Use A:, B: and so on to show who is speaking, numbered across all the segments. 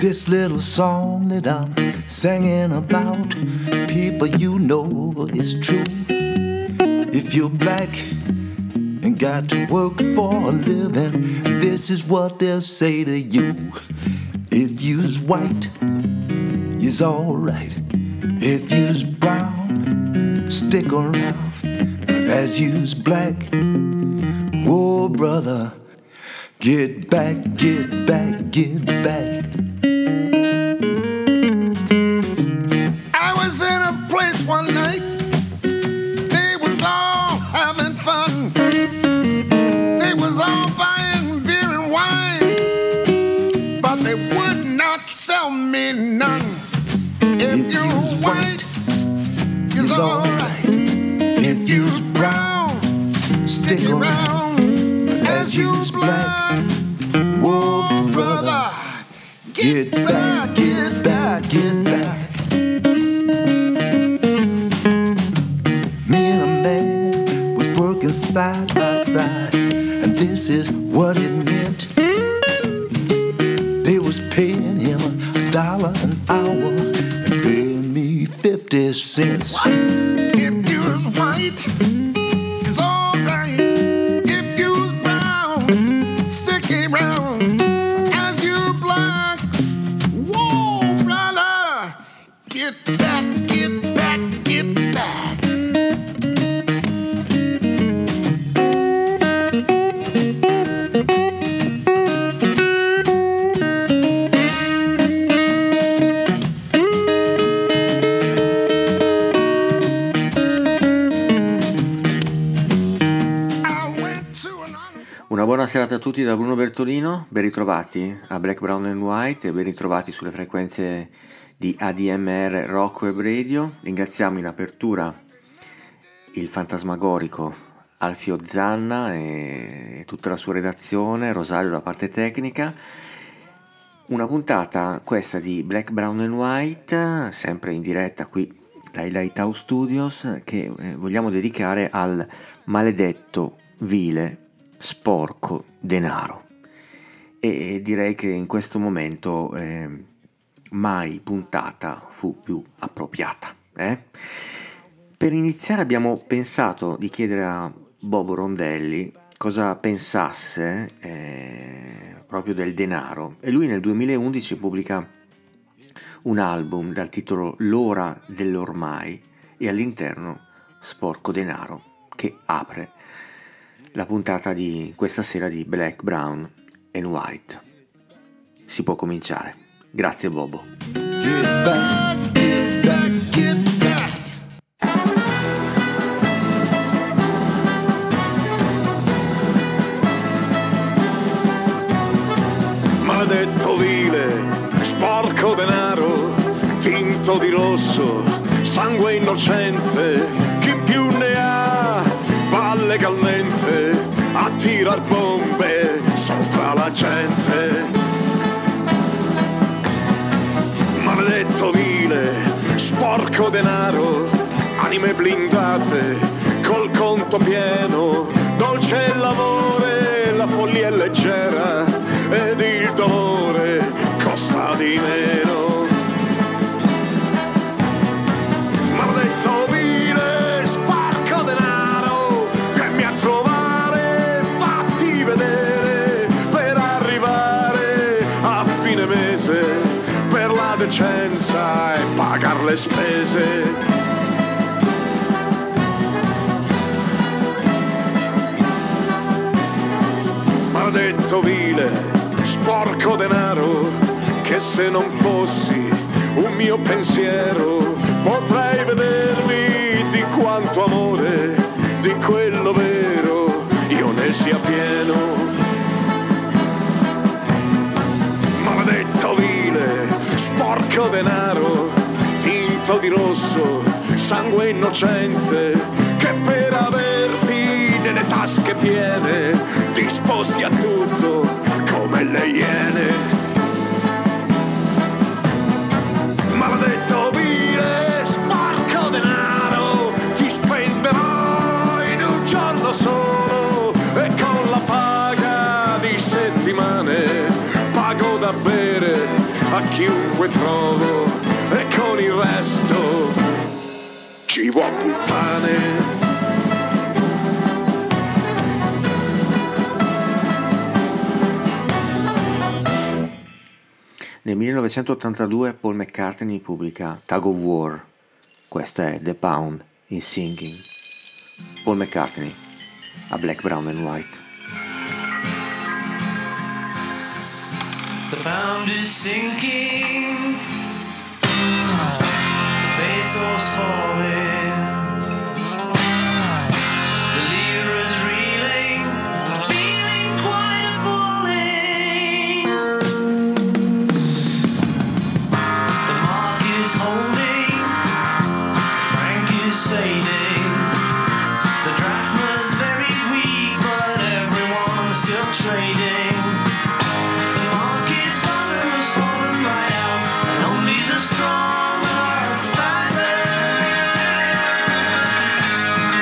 A: This little song that I'm singing about, people, you know it's true. If you're black and got to work for a living, this is what they'll say to you. If you's white, you's alright. If you's brown, stick around. But as you's black, oh brother, get back, get back, get back. I was in a place one night, they was all having fun. They was all buying beer and wine, but they would not sell me none. If you're white, it's alright. If you's brown, stick around. As you's black, whoa brother, get back, get back, get back. Me and a man was working side by side, and this is what it meant. They was paying him $1 an hour and paying me 50 cents. What? If you're white, it's alright. If you're brown, stick around. As you black, whoa brother, get back, get back, get back.
B: Una buona serata a tutti da Bruno Bertolino, ben ritrovati a Black, Brown and White e ben ritrovati sulle frequenze di ADMR Rock Web Radio. Ringraziamo in apertura il fantasmagorico Alfio Zanna e tutta la sua redazione, Rosario la parte tecnica. Una puntata questa di Black, Brown and White, sempre in diretta qui dai Lighthouse Studios, che vogliamo dedicare al maledetto, vile, sporco denaro. E direi che in questo momento mai puntata fu più appropriata. Per iniziare abbiamo pensato di chiedere a Bobo Rondelli cosa pensasse proprio del denaro, e lui nel 2011 pubblica un album dal titolo L'ora dell'ormai e all'interno Sporco denaro, che apre la puntata di questa sera di Black, Brown and White. Si può cominciare. Grazie Bobo.
A: Get back, get back, get back.
C: Maledetto vile, sporco denaro, tinto di rosso, sangue innocente, chi più ne ha va legalmente a tirar bombe sopra la gente. Maledetto vile, sporco denaro, anime blindate col conto pieno, dolce il lavoro, la follia è leggera ed il dolore costa di meno. Maledetto vile, sporco denaro, vieni a trovare, fatti vedere per arrivare a fine mese per la decenza e pagar le spese. Maledetto vile, sporco denaro, che se non fossi un mio pensiero potrei vedermi di quanto amore, di quello vero, io ne sia pieno. Maledetto vile, sporco denaro, tinto di rosso, sangue innocente, che per averti nelle tasche piene disposti a tutto come le iene. Maledetto vile, sporco denaro, ti spenderò in un giorno solo e con la paga di settimane pago da bere a chiunque trovo e con il resto ci vuol puttane.
B: Nel 1982 Paul McCartney pubblica Tug of War, questa è The Pound is Sinking. Paul McCartney a Black, Brown and White.
D: The pound is sinking, the peso's falling, the lira's reeling, feeling quite appalling. The mark is holding, the franc is fading, the drachma's very weak, but everyone's still trading. Strong are survivors.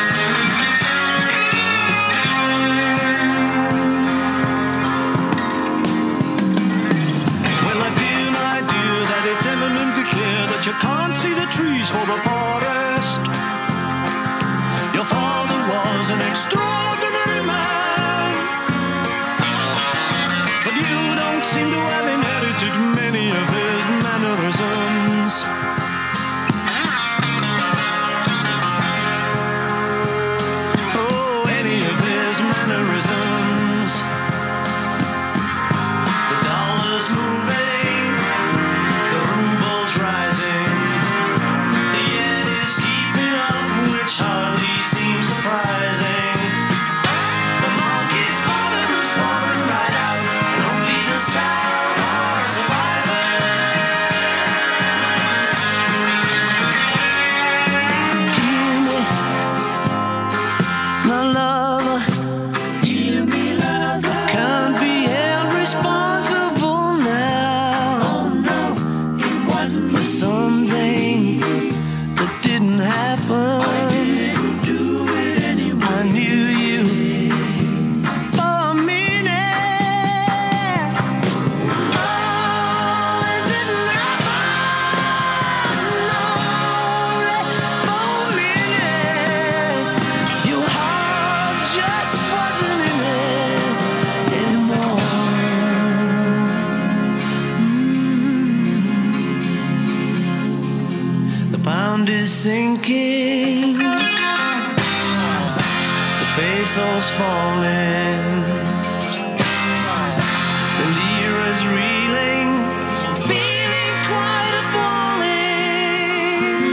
D: Well, I feel, my dear, that it's eminently clear that you can't see the trees for the forest. Your father was an extraordinary man, but you don't seem to have inherited many of his mannerisms. Oh, any of his mannerisms. The dollar's moving, the ruble's rising, the yen is keeping up, which hardly seems surprising. The market's bottom is falling right out, and only the stout are survivors. Hear me, my lover. Hear me, lover. Can't be held responsible now. Oh no, it wasn't for something that didn't happen. I didn't do it anyway. I knew you for a minute. Oh, it didn't happen. No, for a minute. Your heart just wasn't in it anymore. The pound is sinking, the peso's falling, the lira's reeling, feeling quite appalling.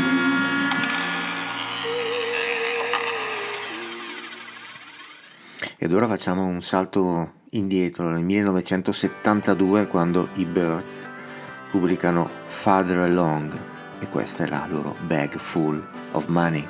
B: Ed ora facciamo un salto indietro nel 1972 quando i Birds pubblicano Farther Along e questa è la loro Bag Full of Money.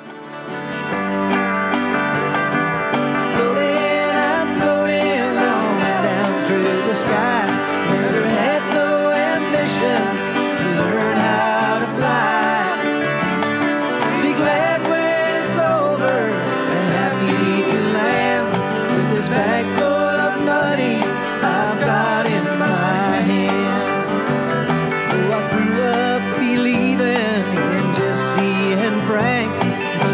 D: Floating, I'm floating along down through the sky. Never had no ambition to learn how to fly. Be glad when it's over and happy to land with this bag full of money I've got in my hand. Oh, I grew up believing in Jesse and Frank.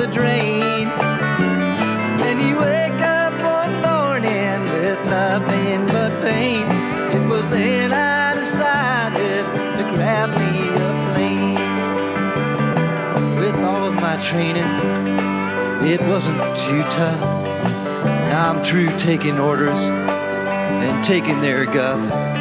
D: the drain. And you wake up one morning with nothing but pain. It was then I decided to grab me a plane. With all of my training, it wasn't too tough. Now I'm through taking orders and taking their guff.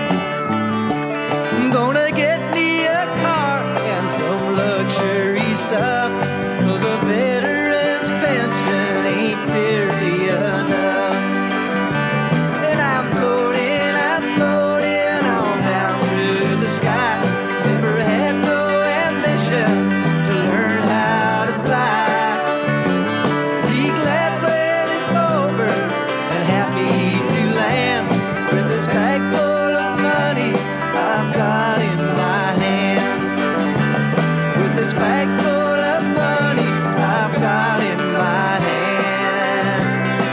D: I'm gonna get me a car and some luxury stuff, 'cause a veteran's pension ain't nearly enough. And I'm floating on down through the sky. Never had no ambition to learn how to fly. Be glad when it's over and happy to land with this bag full of money I've got in my hand. With this bag full of money I've got in my hand.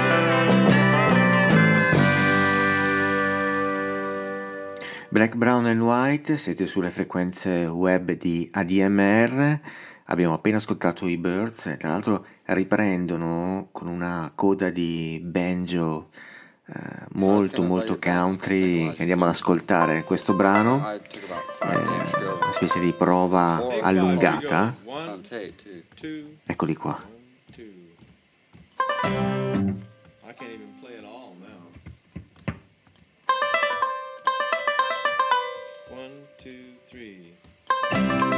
B: Black, Brown and White, siete sulle frequenze web di ADMR. Abbiamo appena ascoltato i Birds, tra l'altro riprendono con una coda di banjo molto molto country che andiamo ad ascoltare. Questo brano una specie di prova allungata. Eccoli qua.
E: I can't even play it all now. 1, 2, 3.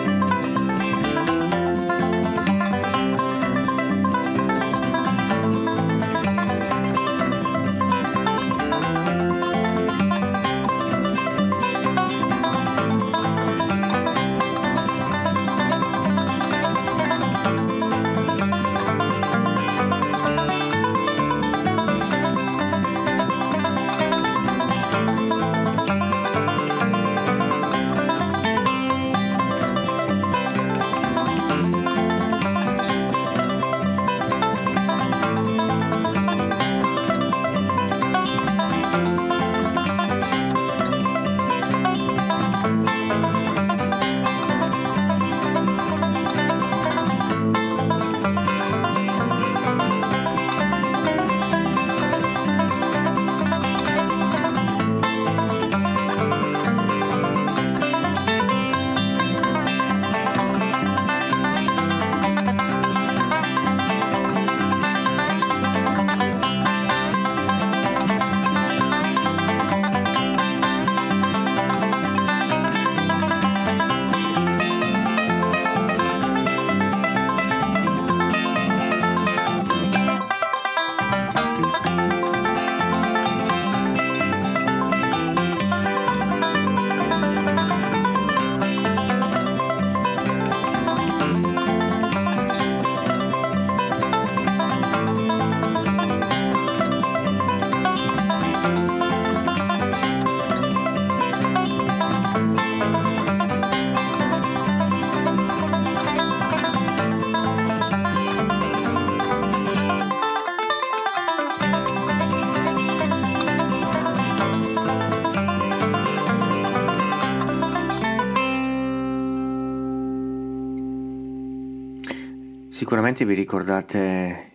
B: Sicuramente vi ricordate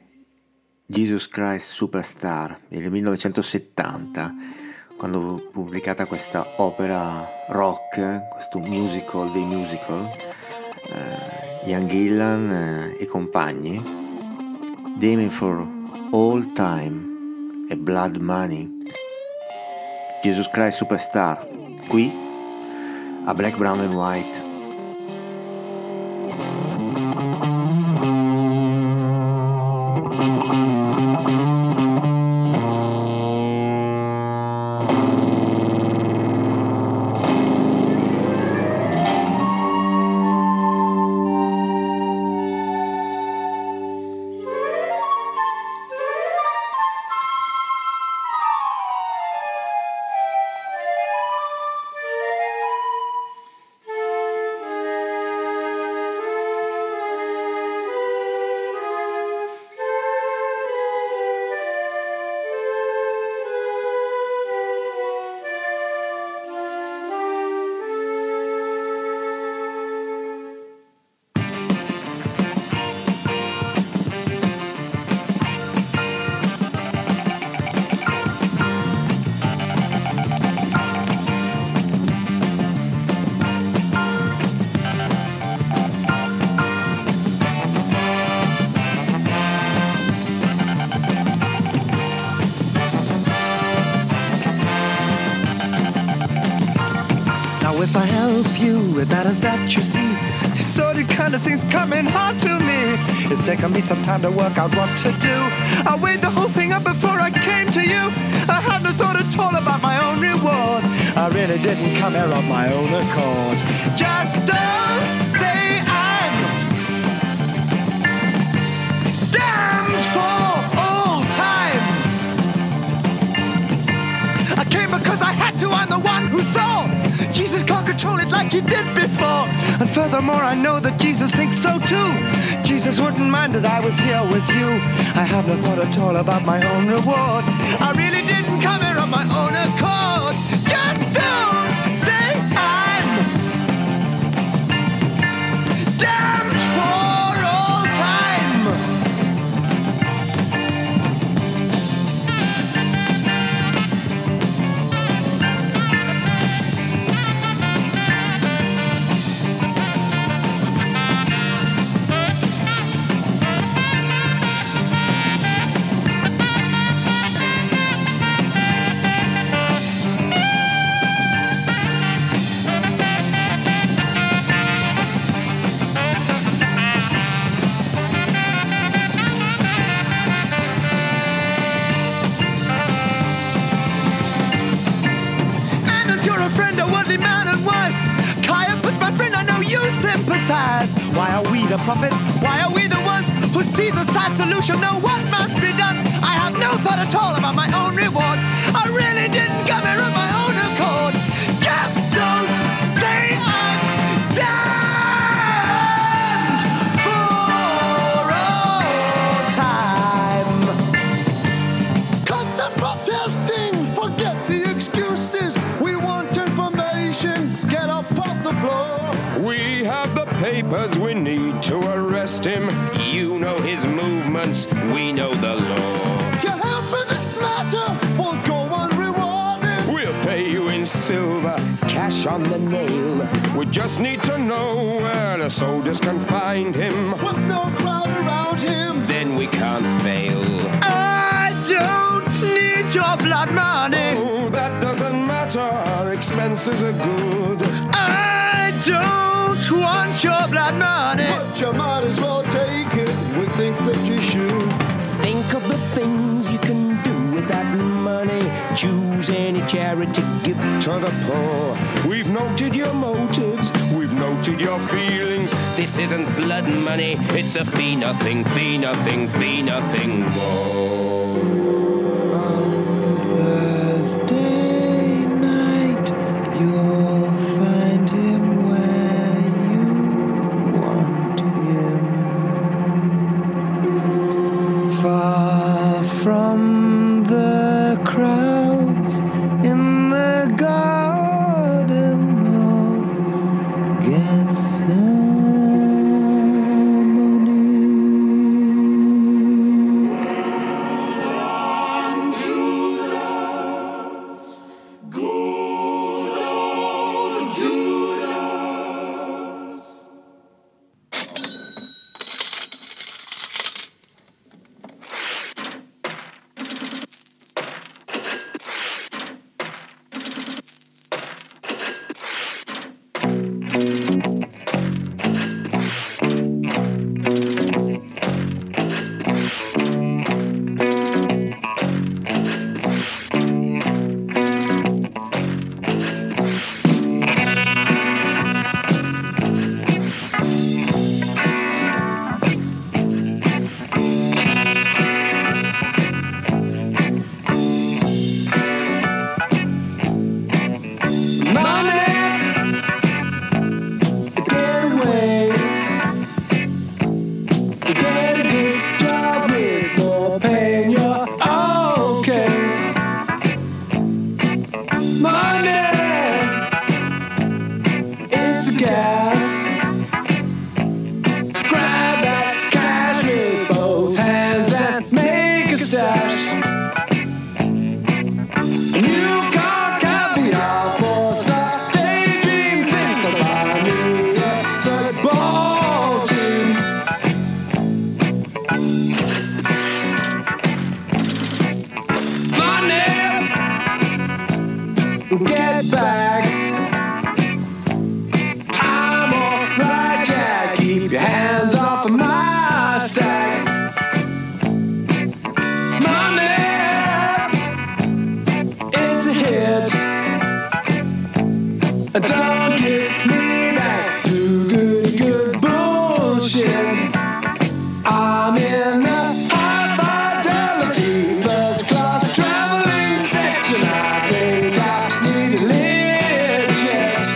B: Jesus Christ Superstar del 1970, quando fu pubblicata questa opera rock, questo musical dei musical, Ian Gillan e compagni, Damn for All Time e Blood Money. Jesus Christ Superstar, qui a Black, Brown and White.
D: help you, it matters that you see. So the kind of things coming hard to me. It's taken me some time to work out what to do. I weighed the whole thing up before I came to you. I had no thought at all about my own reward. I really didn't come here of my own accord. Just don't say I'm damned for all time. I came because I had to, I'm the one who saw. Jesus can't control it like he did before. And furthermore, I know that Jesus thinks so too. Jesus wouldn't mind that I was here with you. I have no thought at all about my own reward. I really didn't come here of my own accord. Just don't say I'm damned for all time. Why are we the prophets? Why are we the ones who see the sad solution? Know what must be done? I have no thought at all about my own reward. I really didn't come here of my own accord. Just don't say I'm damned for all time.
A: Cut the protesting, forget the excuses. We want information, get up off the floor.
F: We have the papers we need to arrest him. You know his movements, we know the law.
A: Your help in this matter won't go unrewarded.
F: We'll pay you in silver, cash on the nail. We just need to know where the soldiers can find him.
A: With no crowd around him,
F: Then we can't fail.
D: I don't need your blood money.
F: Oh, that doesn't matter, our expenses are good.
D: I don't want your blood money.
A: but you might as well take it. We think that you should.
F: Think of the things you can do with that money. Choose any charity, give to the poor. We've noted your motives, we've noted your feelings. This isn't blood money, it's a fee nothing, fee nothing, fee nothing more.
D: On Thursday night, you'll find him where you want him. Far from the crowds in the garden of Gethsemane.
G: in the high fidelity first class traveling sector. I think I need a lift jet.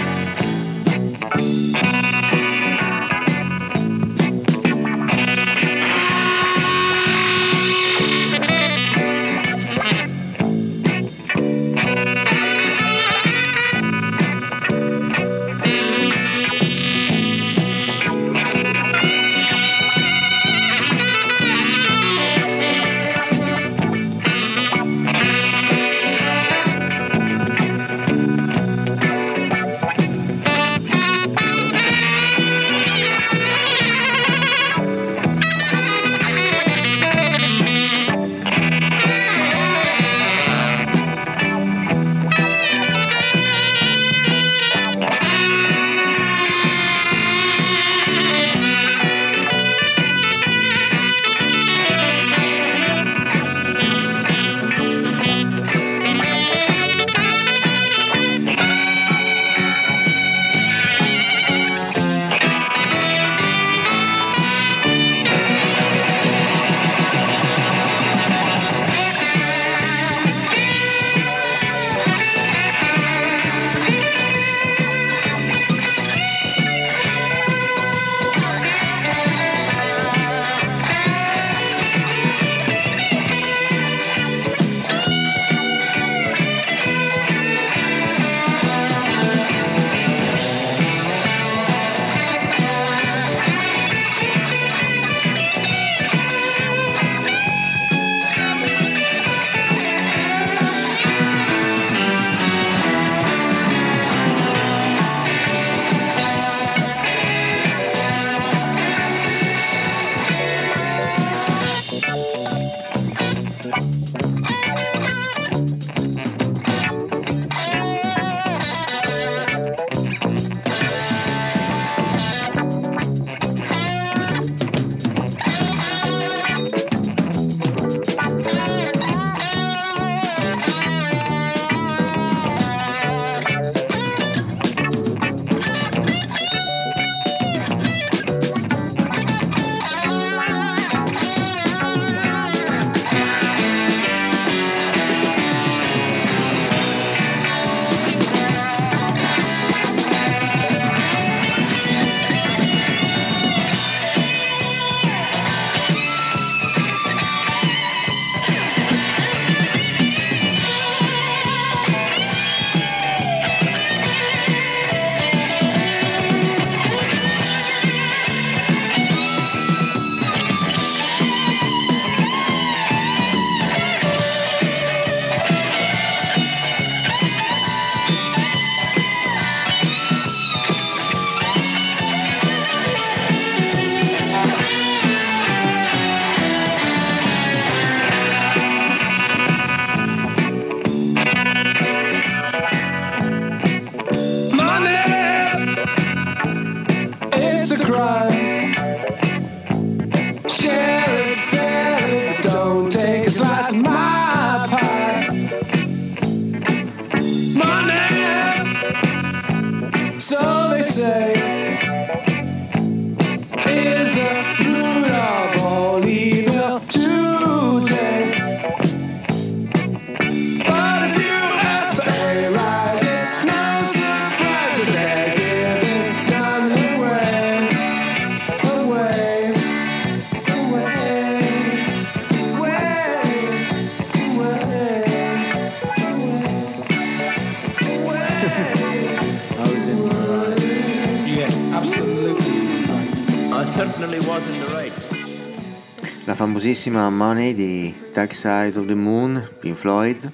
B: La famosissima Money di Dark Side of the Moon, Pink Floyd,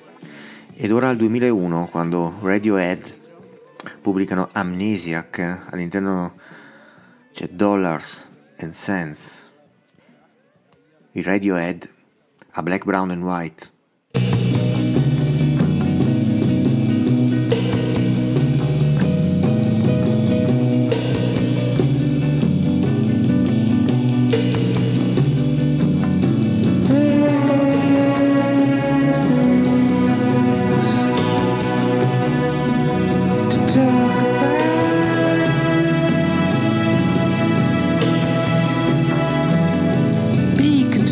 B: ed ora al 2001 quando Radiohead pubblicano Amnesiac, all'interno c'è Dollars and Cents, i Radiohead a Black, Brown and White.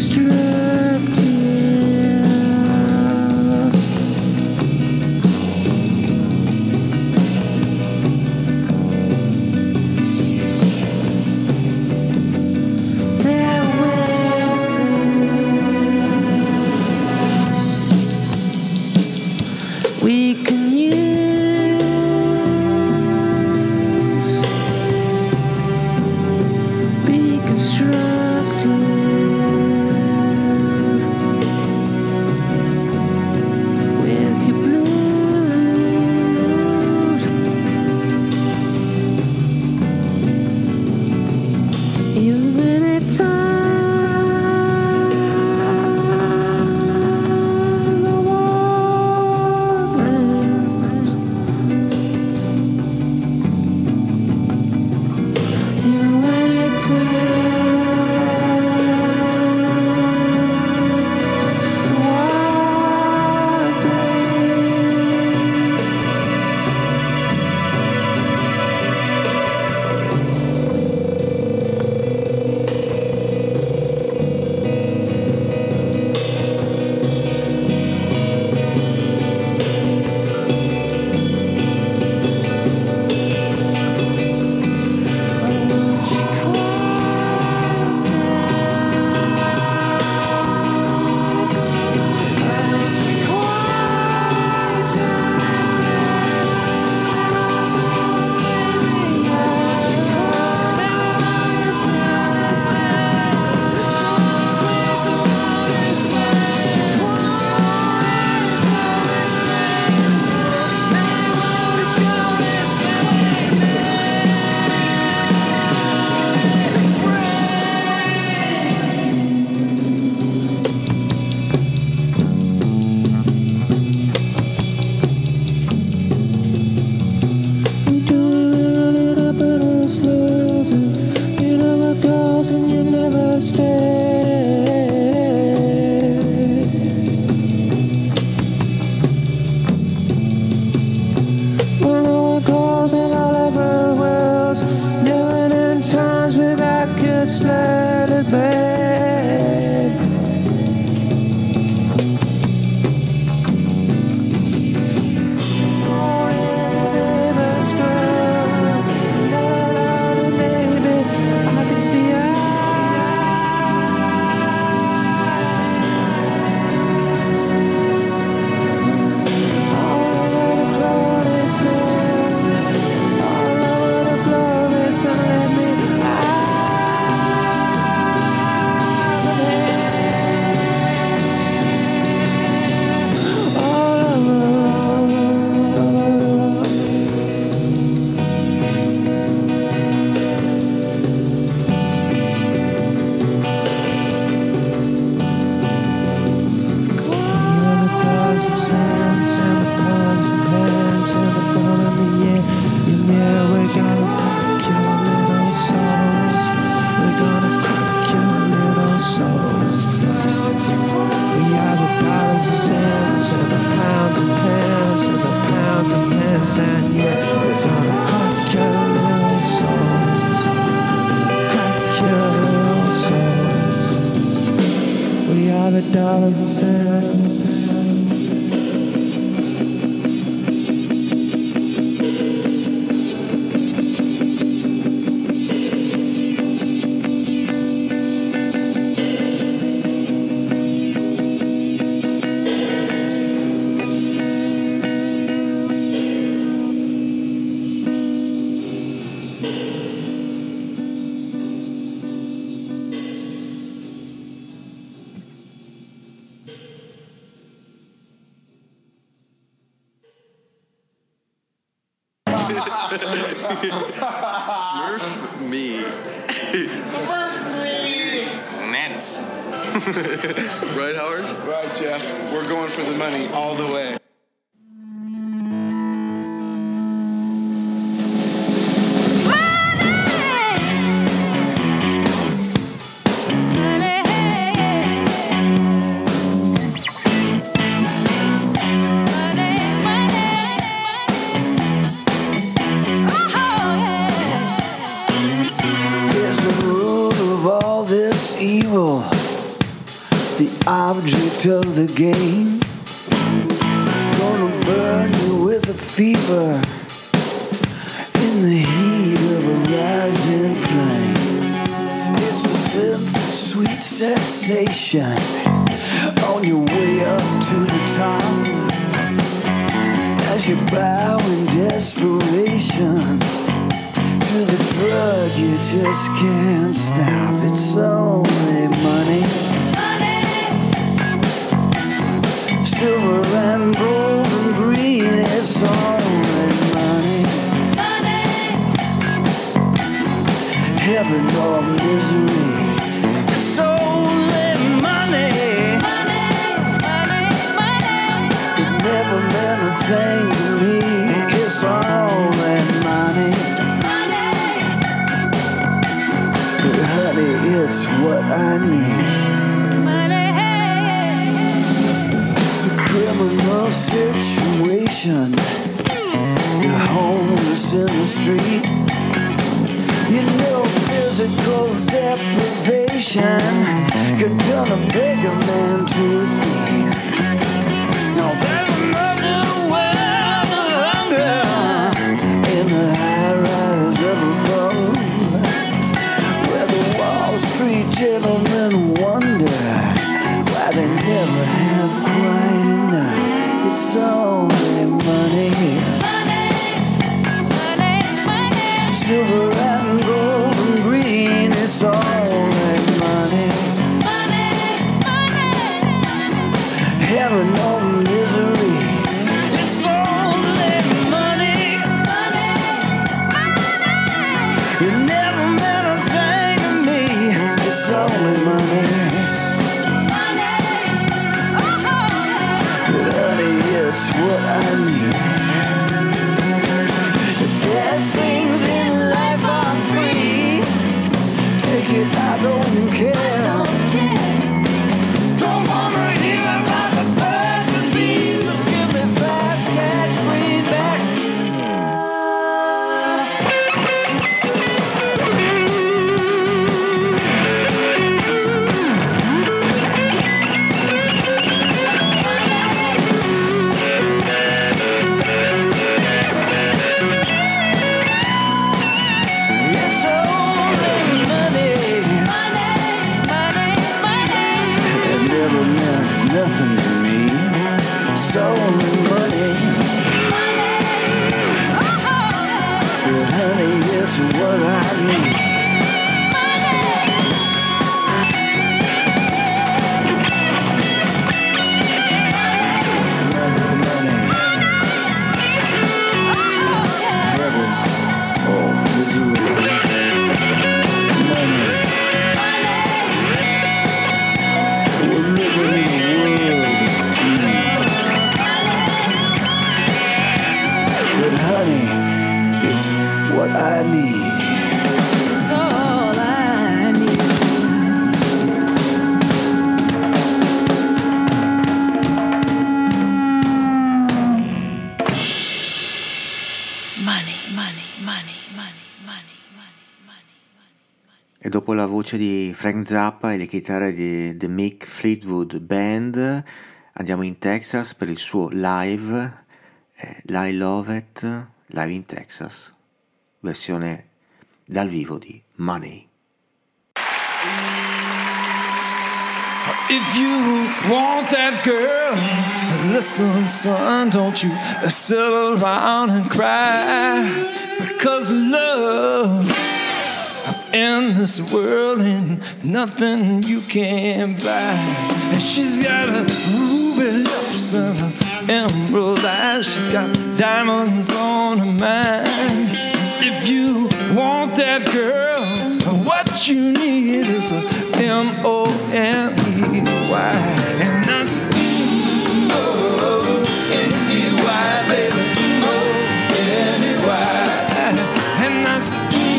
H: dollars and cents.
E: Smurf me.
I: Smurf me!
E: Nets. Right, Howard?
I: Right, Jeff. We're going for the money all the way.
G: the object of the game. Gonna burn you with a fever in the heat of a rising flame. It's a simple, sweet sensation on your way up to the top. As you bow in desperation to the drug you just can't stop. It's only money. Silver and gold and green, it's only money. Heaven or misery, it's only money. It never meant a thing to me, it's only money. But honey, it's what I need. Criminal situation, you're homeless in the street. You know physical deprivation could turn a beggar man to a thief. Now there's another world of hunger in the high rise up above, where the Wall Street gentlemen wonder why they never have quite enough. It's only money. Silver and gold and green, it's only money. Heaven or misery, it's only money. It never meant a thing to me, it's only money. It's what I need. The best things in life are free. Take it, I don't care. Don't wanna hear about the birds and bees. Give me fast cash, greenbacks. Nothing to me, it's only money. But honey, it's what I need. Money. Heaven or misery. Money. We're living in a world of greed. But honey, it's what I need. It's all I need.
H: Money, money, money, money, money, money, money.
B: E dopo la voce di Frank Zappa e le chitarre di The Mick Fleetwood Band andiamo in Texas per il suo live, I Love It, live in Texas, versione dal vivo di Money.
H: If you want that girl, listen, son, don't you sit around and cry, because love in this world ain't nothing you can buy. And she's got a ruby lips and her emerald eyes, she's got diamonds on her mind. If you want that girl, what you need is a M-O-N-E-Y. And that's M-O-N-E-Y, baby, M-O-N-E-Y. And that's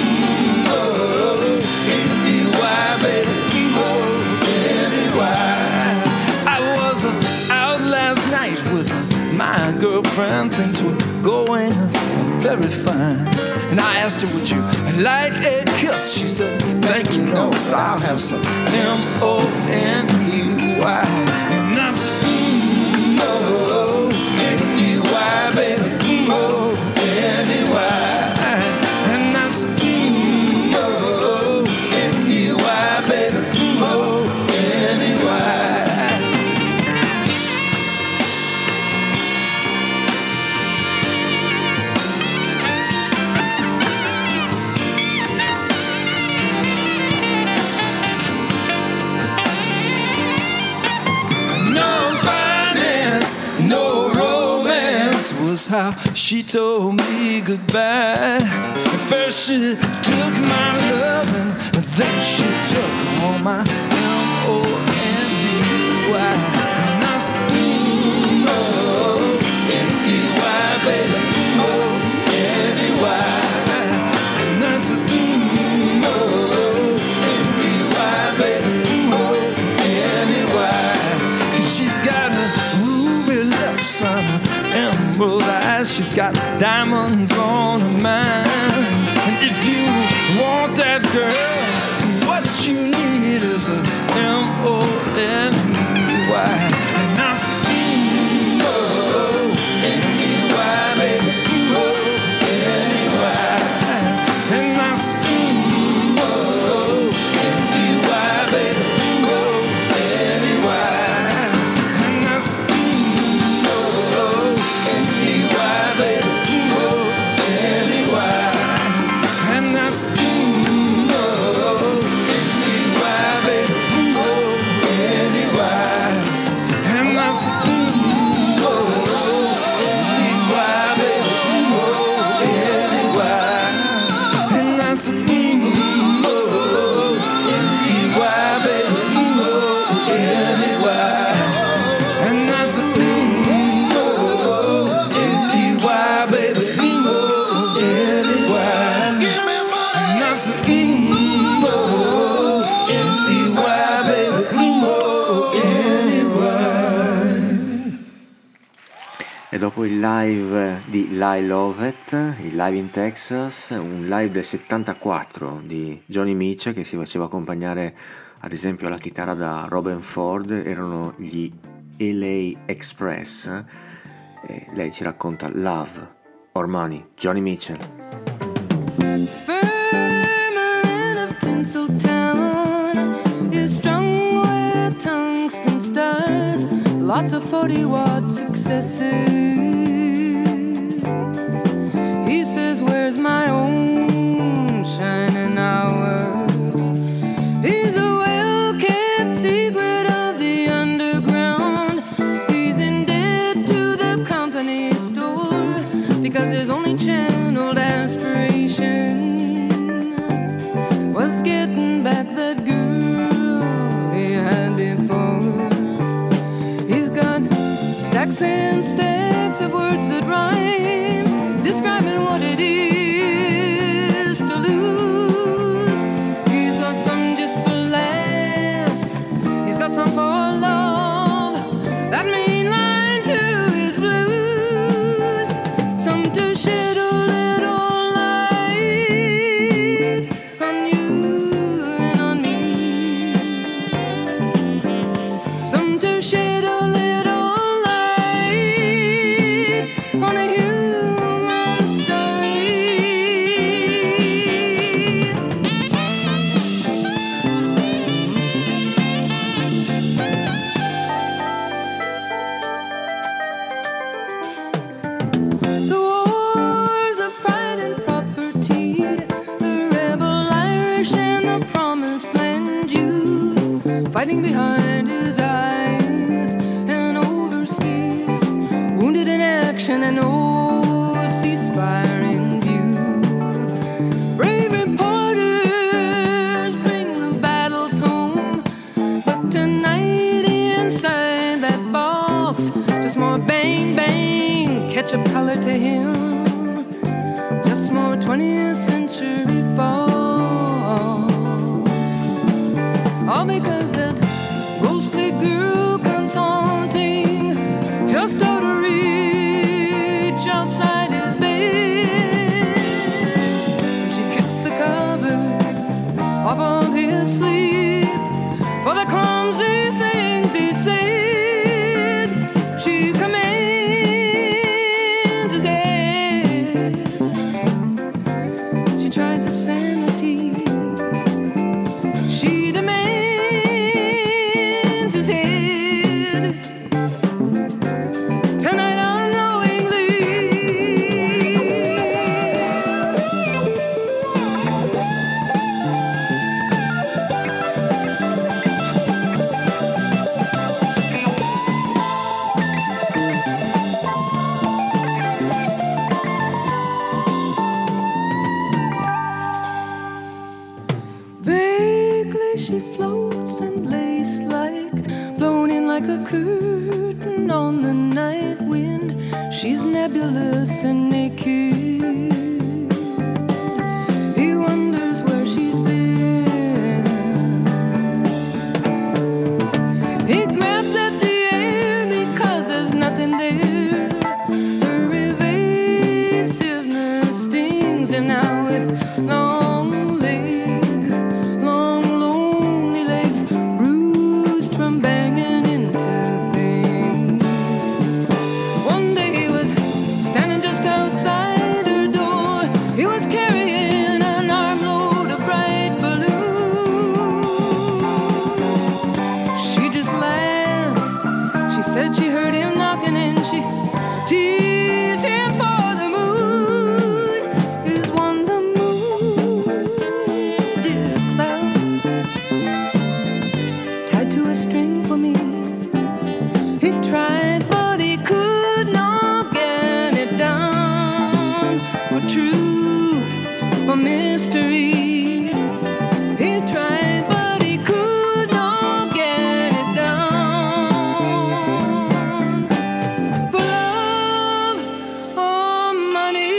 H: M-O-N-E-Y, baby, M-O-N-E-Y. I was out last night with my girlfriend, things were going very fine. And I asked her, would you like a kiss? She said, thank you, no, I'll have some M-O-N-E-Y. is how she told me goodbye. At first she took my loving, and then she took all my M-O-N-D-Y. And I said, M-O-N-D-Y, baby, M-O-N-D-Y. And I said, M-O-N-D-Y, baby, M-O-N-D-Y. 'Cause she's got a ruby lips and emerald eyes. She's got diamonds on her mind. And if you want that girl, what you need is an M-O-N-D-Y. And I said, M-O-N-D-Y, baby, M-O-N-D-Y. And I said, M-O-N-D-Y, baby, M-O-N-D-Y. And I said, M-O-N-D-Y, baby, M-O-N-D-Y. And that's
B: E dopo il live di Lyle Lovett, il live in Texas, un live del 74 di Johnny Mitchell che si faceva accompagnare ad esempio alla chitarra da Robin Ford, erano gli LA Express, e lei ci racconta Love or Money, Johnny Mitchell.
J: Firmament of Tinseltown is strung with tungsten stars, lots of 40-watt successes. He says, where's my own shining hour? He's a well-kept secret of the underground. He's in debt to the company store because his only channeled aspiration was getting back that girl he had before. He's got stacks and stacks of words that rhyme, describing what it is to lose. He's got some just for laughs, he's got some for love, that main line to his blues, some to shed a little light on you and on me, some to shed a little light on a human story. The wars of pride and property, the rebel Irish and the promised land Jew, fighting behind his eyes and overseas, wounded in action and no ceasefire in view. Brave reporters bring the battles home, but tonight inside that box, just more bang bang, ketchup color to him, just more 20th century fox. All because that ghostly girl comes haunting just out of reach outside his bed. She kicks the covers off of his sleep for the clumsy things he said. She commands his head like a curtain on the night wind. She's nebulous and naked. He wonders where she's been. He grabs at the air because there's nothing there. Her evasiveness stings him now with long legs, long lonely legs, bruised from banging into things. One day he was standing just outside her door. He was carrying an armload of bright balloons. She just laughed. She said she heard him knocking and she teased him for the moon. Is one the moon, dear cloud, tied to a string for me? He tried, but he could not get it down. For truth, for mystery. He tried, but he could not get it down. For love or money.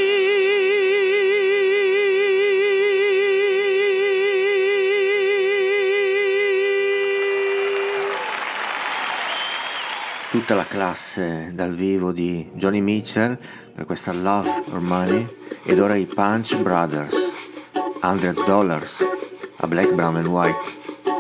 B: Tutta la classe dal vivo di Johnny Mitchell per questa Love or Money, ed ora i Punch Brothers, $100 a Black, Brown and White.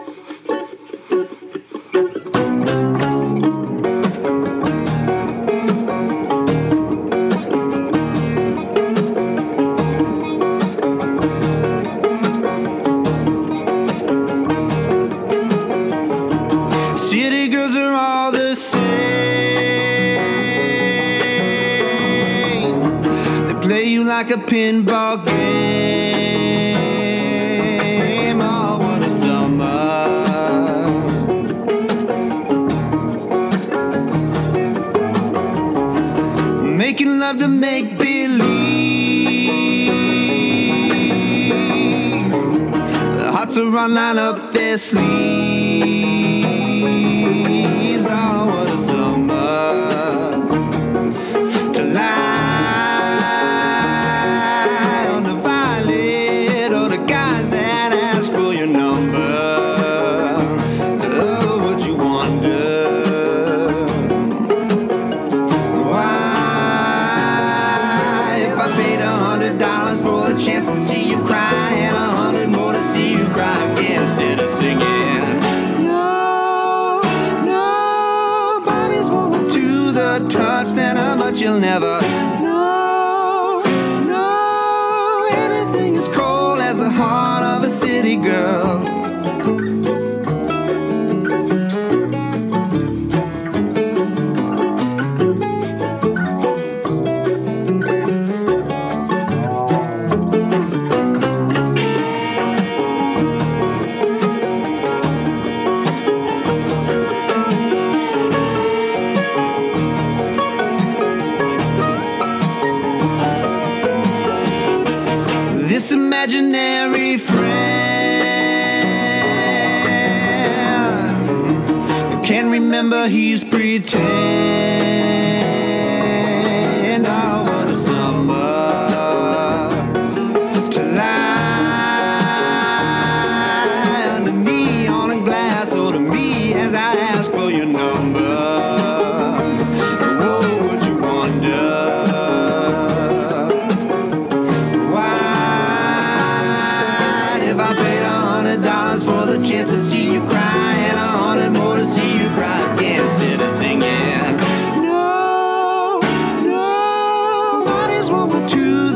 G: City girls are all the same. They play you like a pinball game. Oh, what a summer. Making love to make believe. The hearts are on line up their sleeves. Oh, what a summer to lie on the violet, or the guys that ask for your number. Oh, would you wonder why, if I paid $100 for a chance to see you cry, and 100 more to see you cry again, instead of singing? No, nobody's woman to the touch that how much you'll never know. No, anything as cold as the heart of a city girl. This imaginary friend can't remember he's pretend. Oh, what a summer to lie under neon and glass, or to me as I ask for your number. Oh, would you wonder why, if I paid $100 for the chance to see you cry, and 100 more to see you cry again, instead of singing? No, nobody's woman to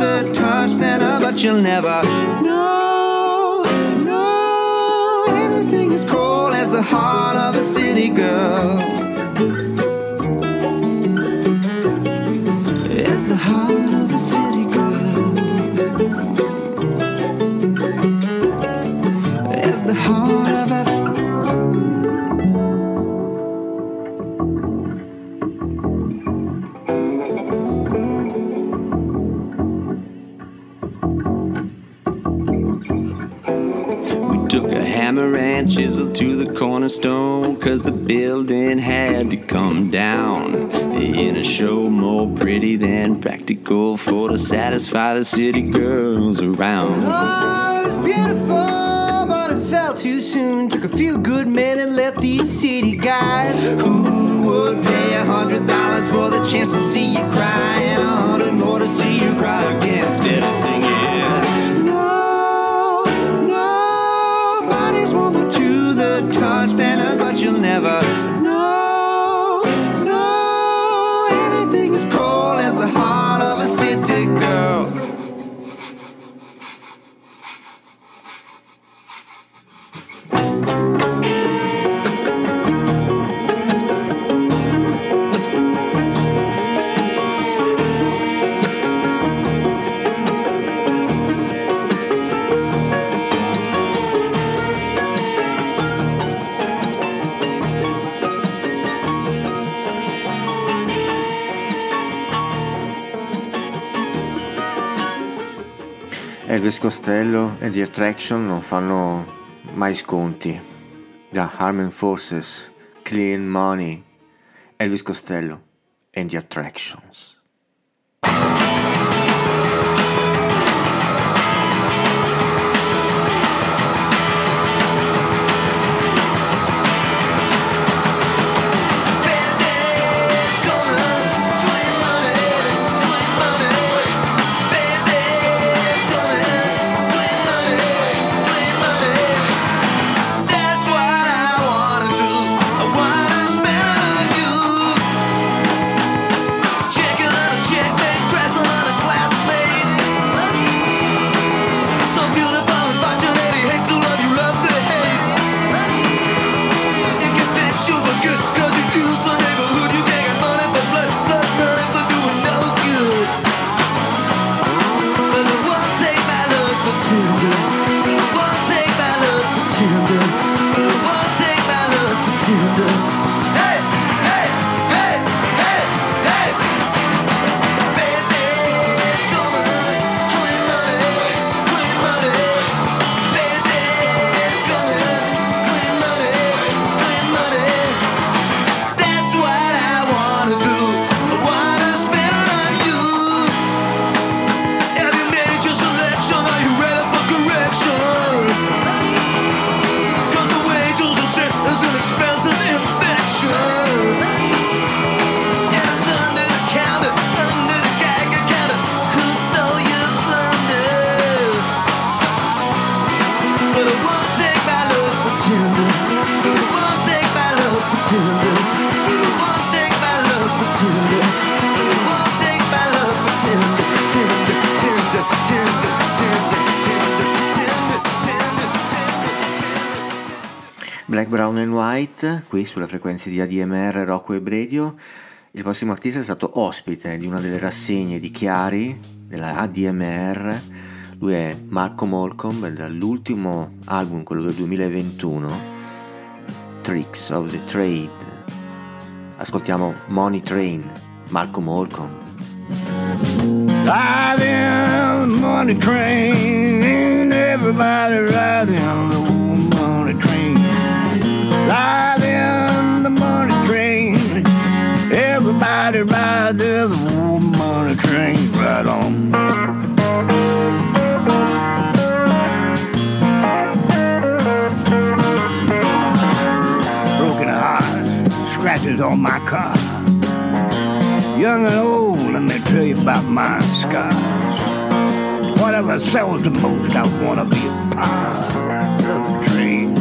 K: hand chiseled to the cornerstone, 'cause the building had to come down. The inner show more pretty than practical for to satisfy the city girls around.
D: Oh, it was beautiful, but it fell too soon. Took a few good men and left these city guys. Who would pay $100 for the chance to see you cry, and 100 more to see you cry again instead of singing? No, nobody's woman to the touch, then but you'll never know. No, anything as cold as the heart of a city girl.
B: Elvis Costello e The Attraction non fanno mai sconti. Da Armed Forces, Clean Money, Elvis Costello and The Attractions. Black, Brown and White, qui sulle frequenze di ADMR Rock Web Radio. Il prossimo artista è stato ospite di una delle rassegne di Chiari della ADMR. Lui è Malcolm Holcomb, dall'ultimo album, quello del 2021, Tricks of the Trade. Ascoltiamo Money Train, Malcolm Holcomb.
F: Riding the money train, everybody riding the old money train. Riding the money train, everybody riding the old money train. Right on. Broken hearts, scratches on my car. Young and old, let me tell you about my scars. Whatever sells the most, I wanna be a part of the train.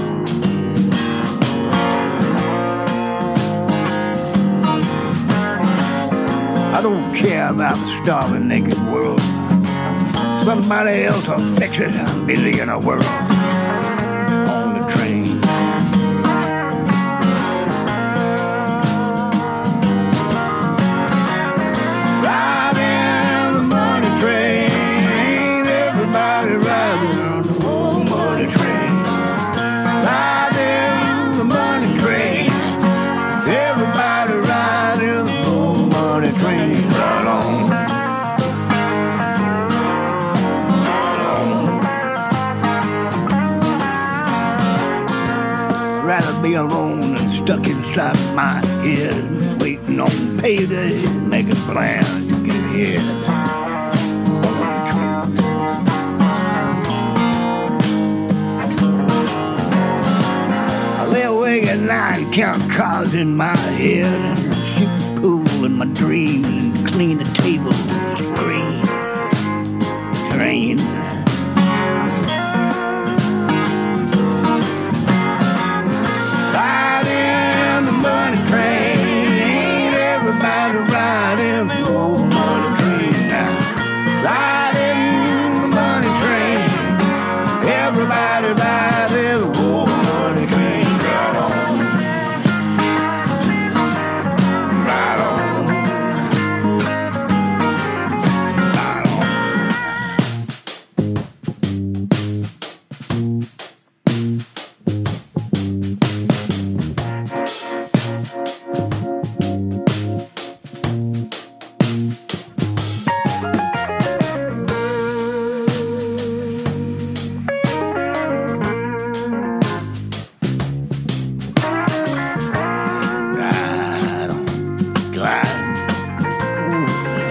F: I don't care about the starving naked world. Somebody else will fix it, I'm busy in a world. On the train. Riding the money train, everybody riding on the old money train. Riding the money train, everybody riding the old money train. Right on. Right on.
L: me alone and stuck inside my head, waiting on payday, making plans to get ahead. I lay awake at night and count cards in my head, and shoot the pool in my dreams, and clean the table, scream, train. Riding the money train, everybody riding the old money train now. Riding the money train, everybody riding the old money train. Right on, right on, right on. Right on, glide. Ooh,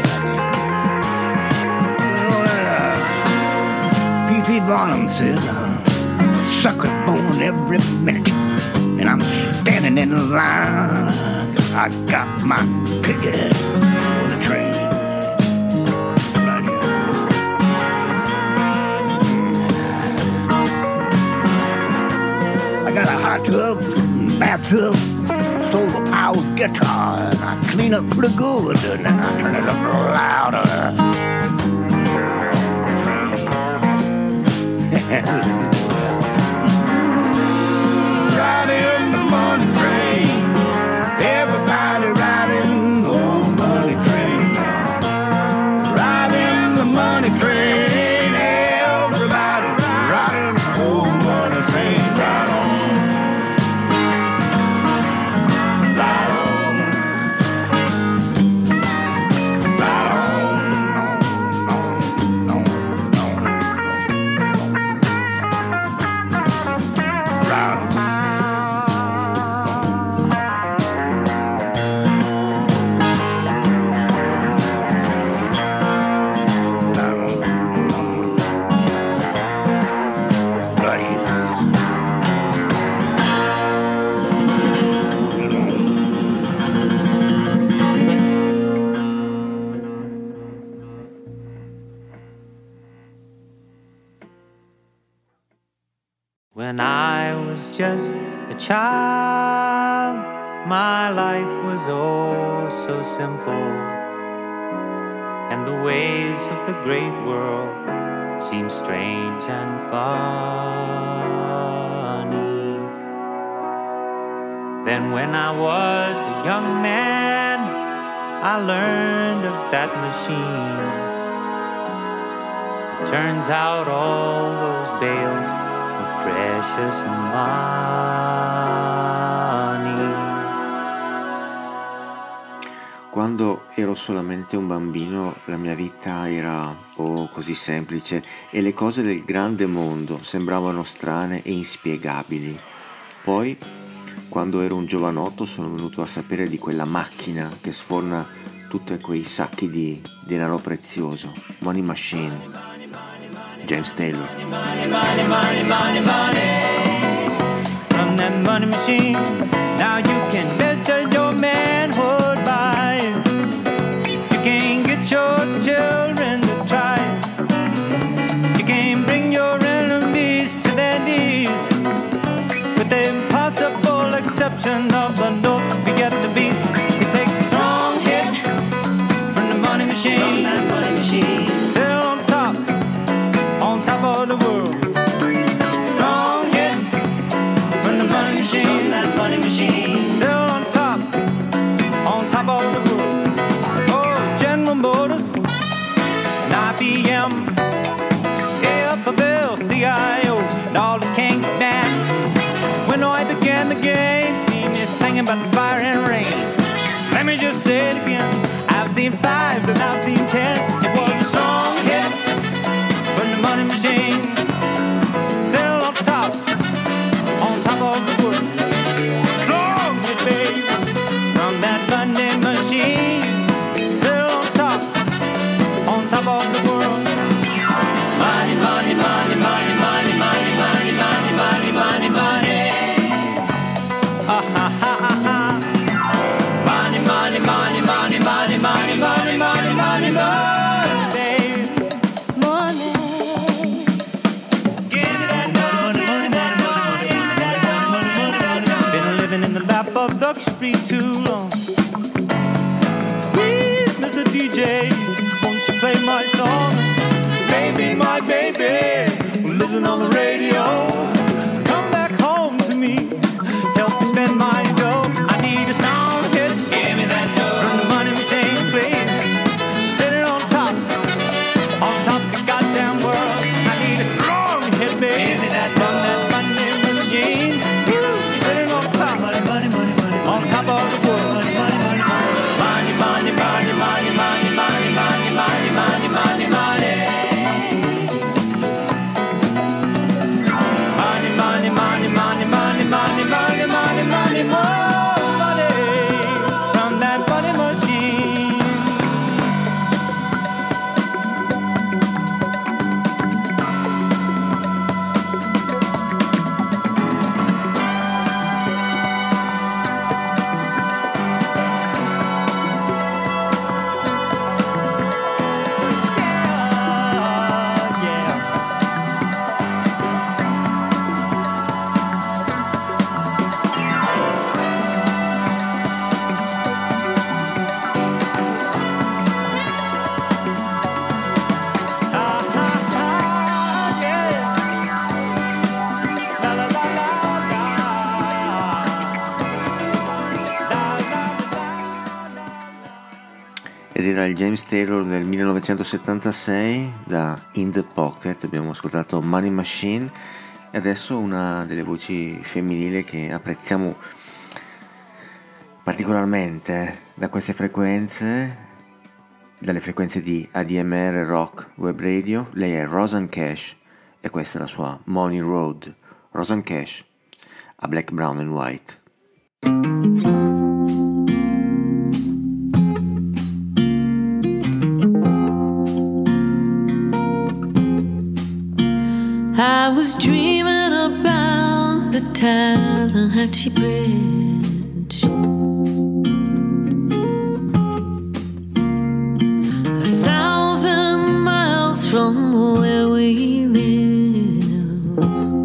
L: P.T. Barnum said, sucker's born every minute, and I'm standing in line. I got my ticket for the train. Right here. I got a hot tub, bathtub, solar powered guitar, and I clean up pretty good, and then I turn it up louder. Riding the money train, everybody riding the old money train. Riding the money train, everybody riding the old money train. Right on, right on, right on, no, no, no, right on.
M: When I was just a child, my life was oh so simple, and the ways of the great world seemed strange and funny. Then when I was a young man, I learned of that machine that turns out all those bales of precious money.
B: Quando ero solamente un bambino la mia vita era così semplice e le cose del grande mondo sembravano strane e inspiegabili. Poi, quando ero un giovanotto, sono venuto a sapere di quella macchina che sforna tutti quei sacchi di denaro prezioso. Money Machine. James Taylor.
M: Money, money, money, money, money. From that money machine, now you can measure your manhood by it. You can't get your children to try it. You can't bring your enemies to their knees. With the impossible exception of the note, we get the beast. You take a strong hit from the money machine. From that money machine. Sit on top of the world. Strong hit from the money machine. From that money machine. Still on top of the world. Oh, General Motors, and IBM, AFL, CIO, and all the kings of band. When I began the game, see me singing about the fire and rain. Let me just say it again. I've seen fives and I've seen tens. It was a strong hit from the money machine. Still on top of the world. song. Please, Mr. DJ, won't you play my song? Baby, my baby, listen on the radio. Come back home to me, help me spend my dough. I need a strong hit, give me that dough. From the money machine, please. Sit it on top the goddamn world. I need a strong hit, baby. Give me that from that money machine. Sit it on top, on top of the world. Money, money, money, money, money, money, money, money, money, money, money, money, money. Money, money, money, money, money, money, money, money, more money from that money machine.
B: Ed era il James Taylor del 1976 da In the Pocket. Abbiamo ascoltato Money Machine e adesso una delle voci femminili che apprezziamo particolarmente da queste frequenze, dalle frequenze di ADMR Rock Web Radio. Lei è Rosanne Cash e questa è la sua Money Road. Rosanne Cash a Black, Brown and White.
N: I was dreaming about the Tallahatchie Bridge, 1,000 miles from where we live.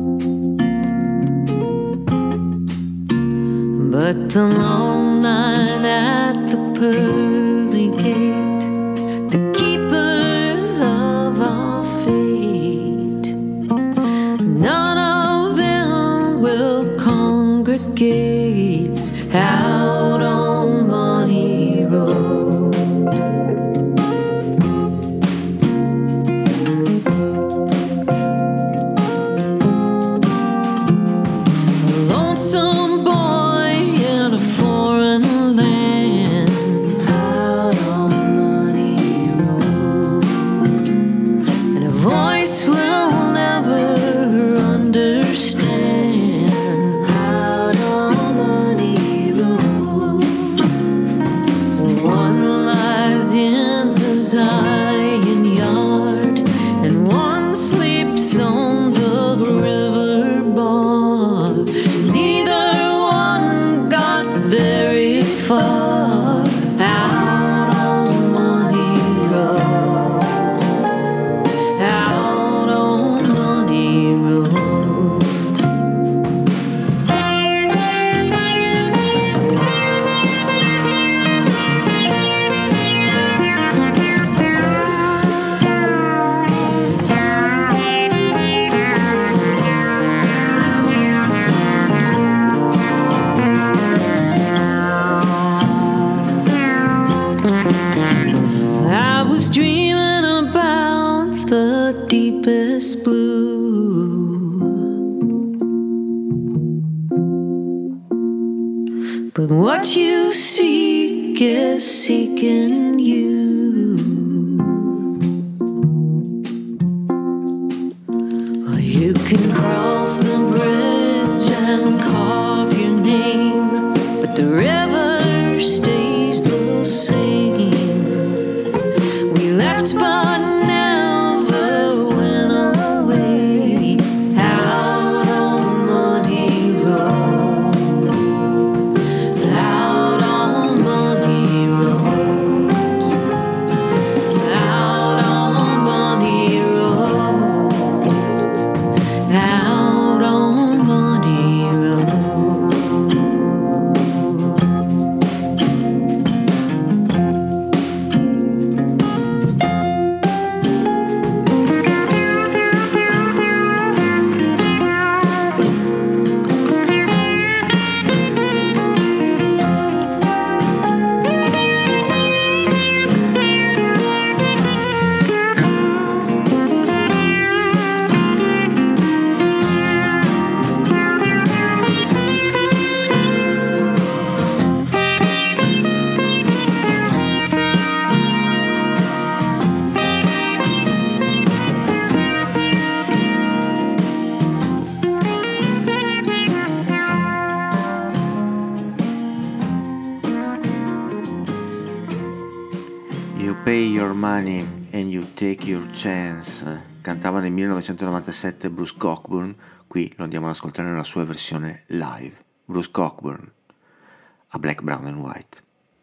N: But the long night at the pearly gate, the keepers of our fate, none of them will congregate out on Money Road. A lonesome boy in a foreign land, out on Money Road, and a voice will never understand, out on Money Road. One lies in the Zion yard, and one sleeps on the river bar. Neither one got very far, out on Money Road, out on Money Road. I was dreaming about the deepest blue, but what you seek is seeking you. Well, you can cross the bridge and carve your name, but the river stays the same. We left but never went away, out on Money Road, out on Money Road.
B: You Pay Your Money and You Take Your Chance, cantava nel 1997 Bruce Cockburn. Qui lo andiamo ad ascoltare nella sua versione live. Bruce Cockburn a Black, Brown and White.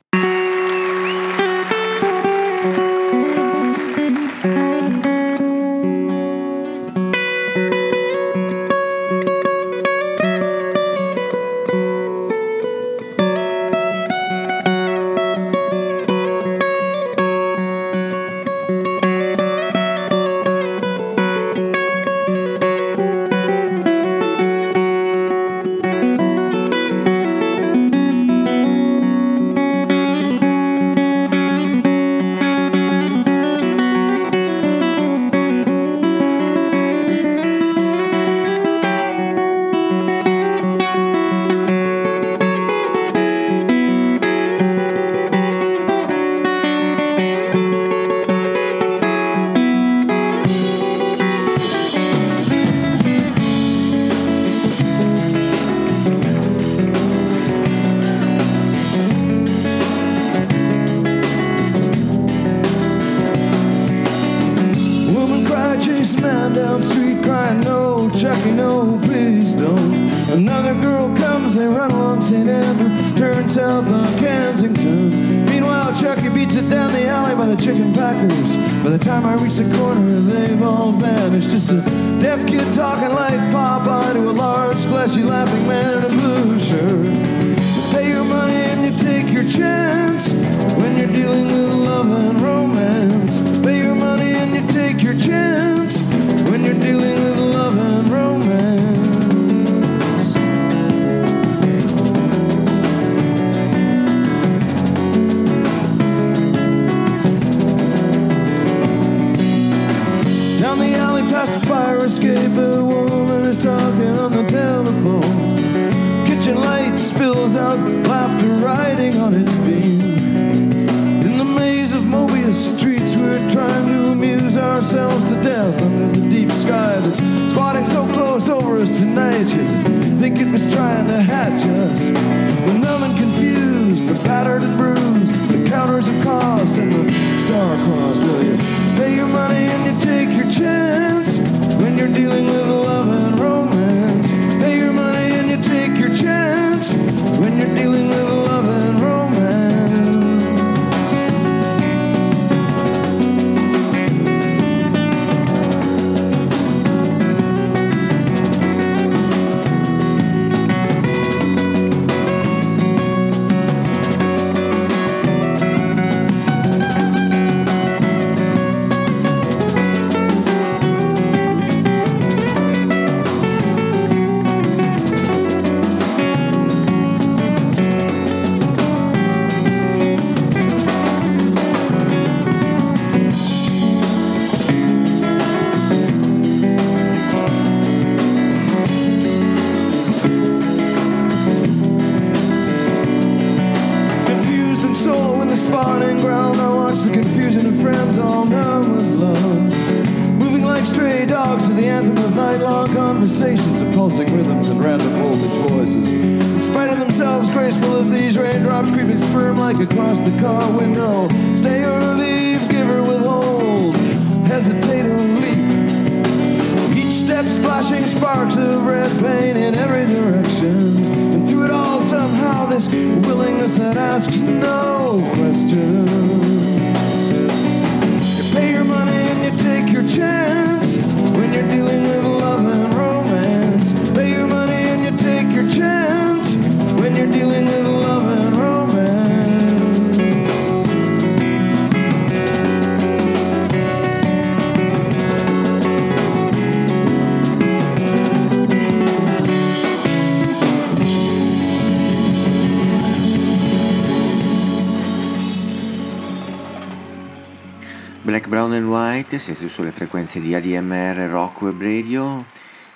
B: Black, Brown and White, siete sulle frequenze di ADMR Rock Web Radio.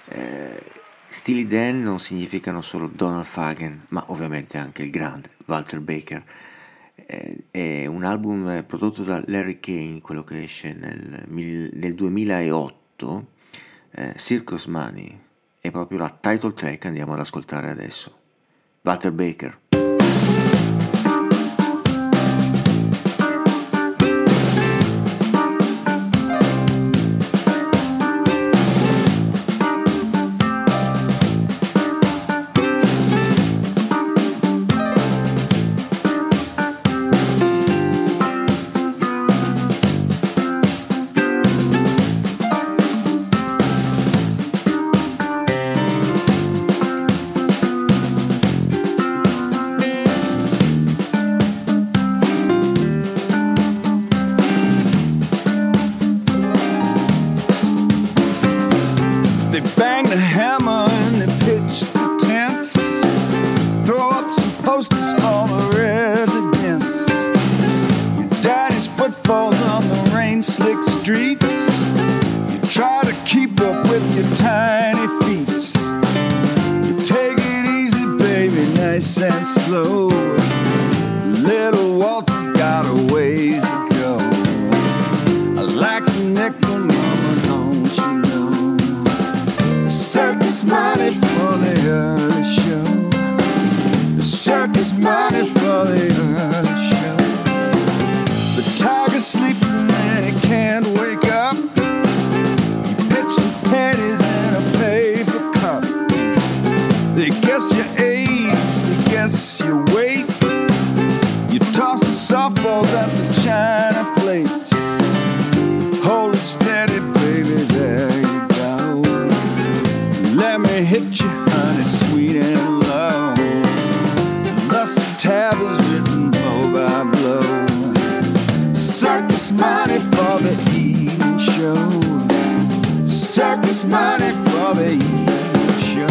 B: Steely Dan non significano solo Donald Fagen, ma ovviamente anche il grande Walter Baker. È un album prodotto da Larry Kane, quello che esce nel 2008, Circus Money, è proprio la title track, andiamo ad ascoltare adesso. Walter Baker.
G: circus money for the evening show.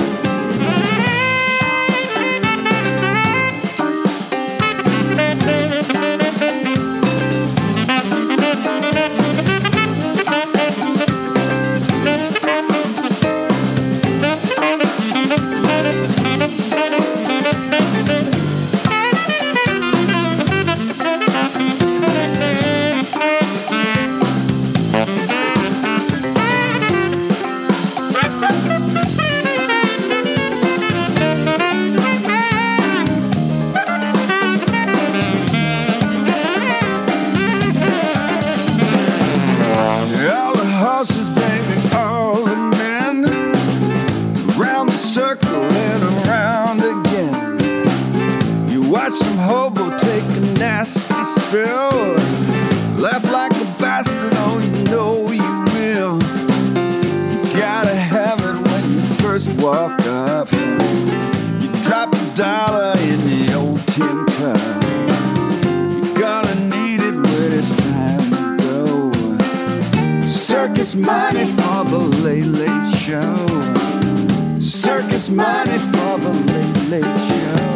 G: Money for the Late Late Show. Circus money for the Late Late Show.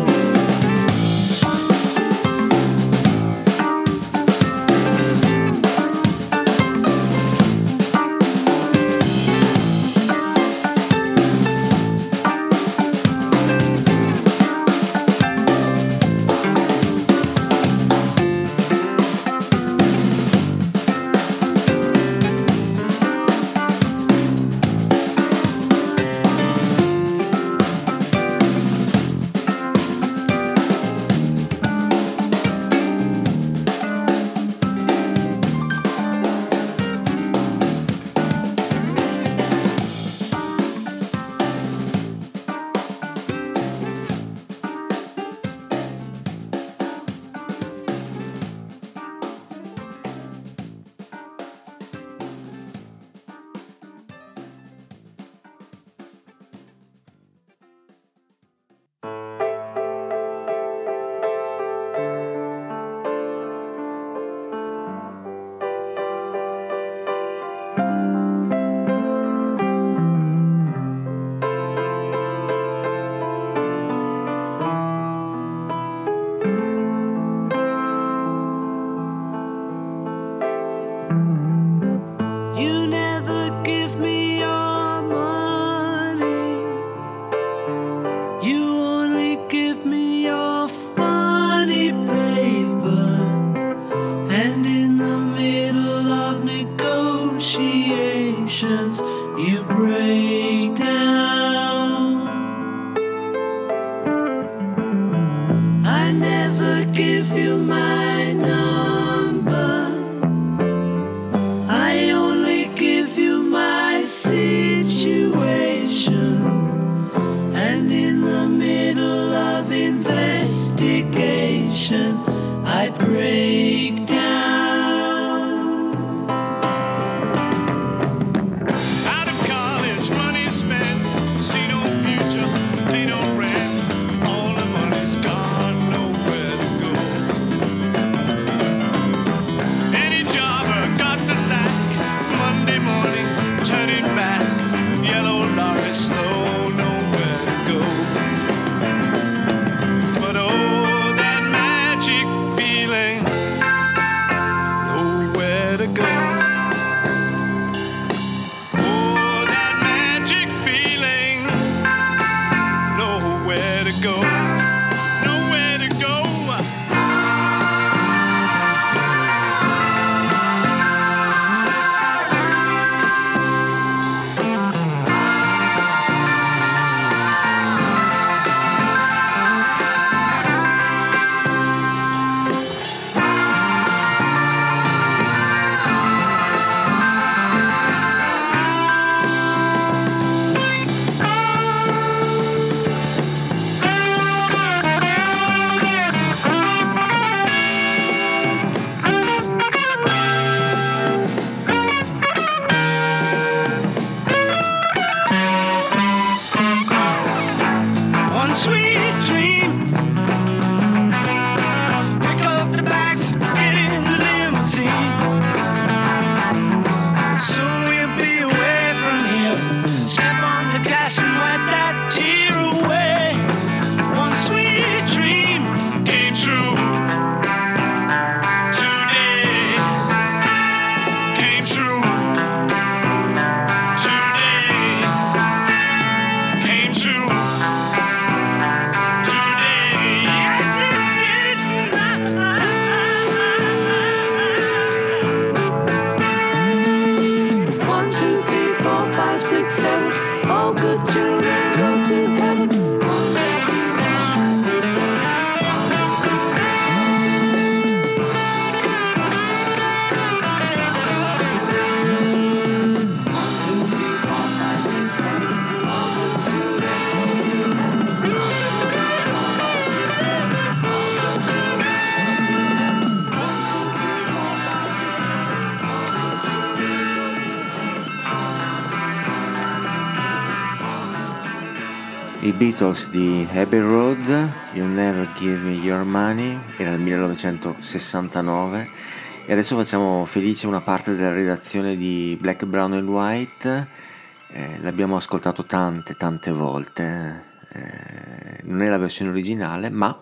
B: I Beatles di Abbey Road, You Never Give Me Your Money, era il 1969, e adesso facciamo felice una parte della redazione di Black, Brown and White. L'abbiamo ascoltato tante volte, non è la versione originale, ma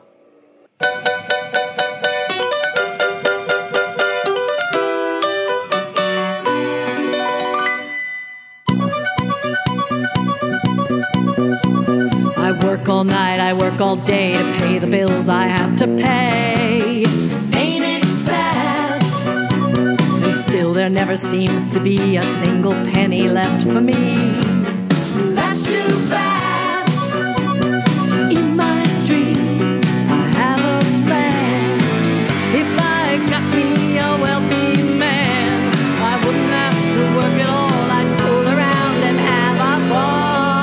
O: I work all night, I work all day to pay the bills I have to pay. Ain't it sad? And still there never seems to be a single penny left for me. That's too bad. In my dreams I have a plan. If I got me a wealthy man, I wouldn't have to work at all. I'd fool around and have a ball.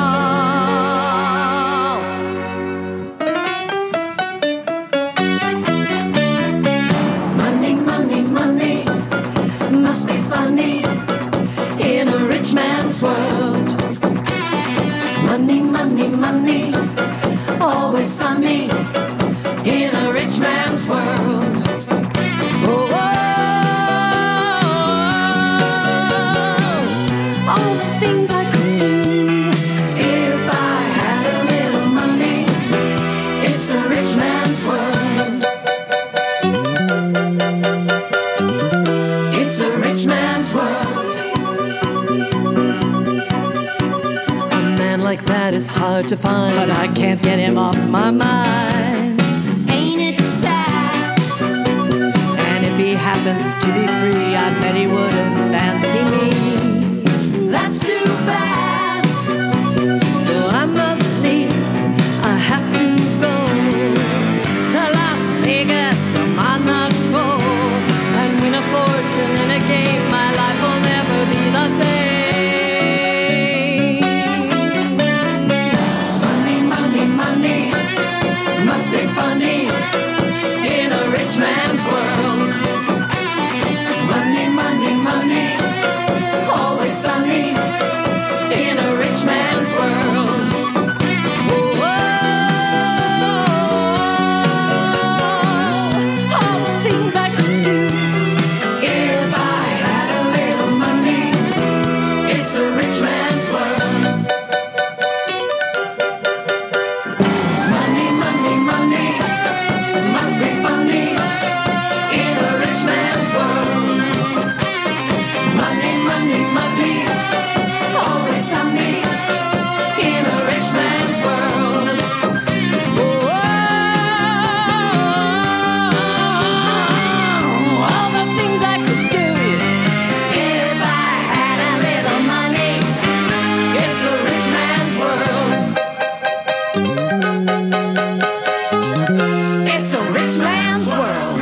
O: Must be funny in a rich man's world. Money, money, money, always sunny in a rich man's world. Oh, all the things I could do if I had a little money. It's a rich man's world. It's a rich man's world. A man like that is hard to find, but I can't get him off my mind. Ain't it sad? And if he happens to be free, I bet he wouldn't fancy me. That's too bad. So I must leave. I have to go to Las Vegas or Monaco and win a fortune in a game. My life will never be the same. Money, money, money must be funny in a rich man's world. Money, money, money, always sunny in a rich man's world. All the things I could do if I had a little money. It's a rich man's world. Money, money, money must be funny in a rich man's world. Money, money, money, always sunny in a rich man's world. All the things I could do if I had a little money. It's a rich man's world. It's a rich man's world.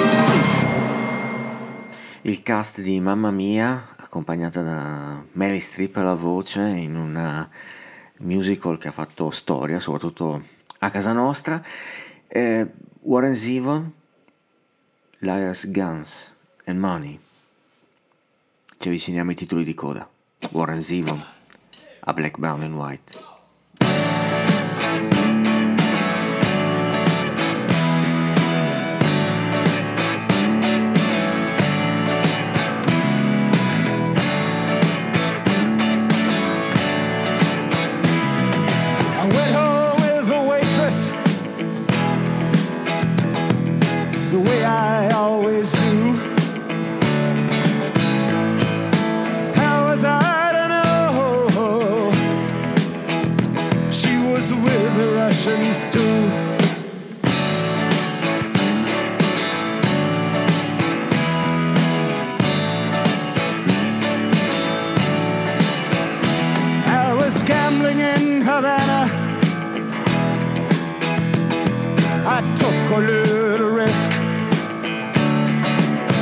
B: il cast di Mamma Mia, accompagnata da Meryl Streep alla voce in una musical che ha fatto storia, soprattutto a casa nostra. Warren Zevon, Liars, Guns and Money. Ci avviciniamo ai titoli di coda. Warren Zevon a Black, Brown and White.
F: I went home with the waitress, the way I always do. How was I to know she was with the Russians too? I was gambling in Havana. I took a little risk.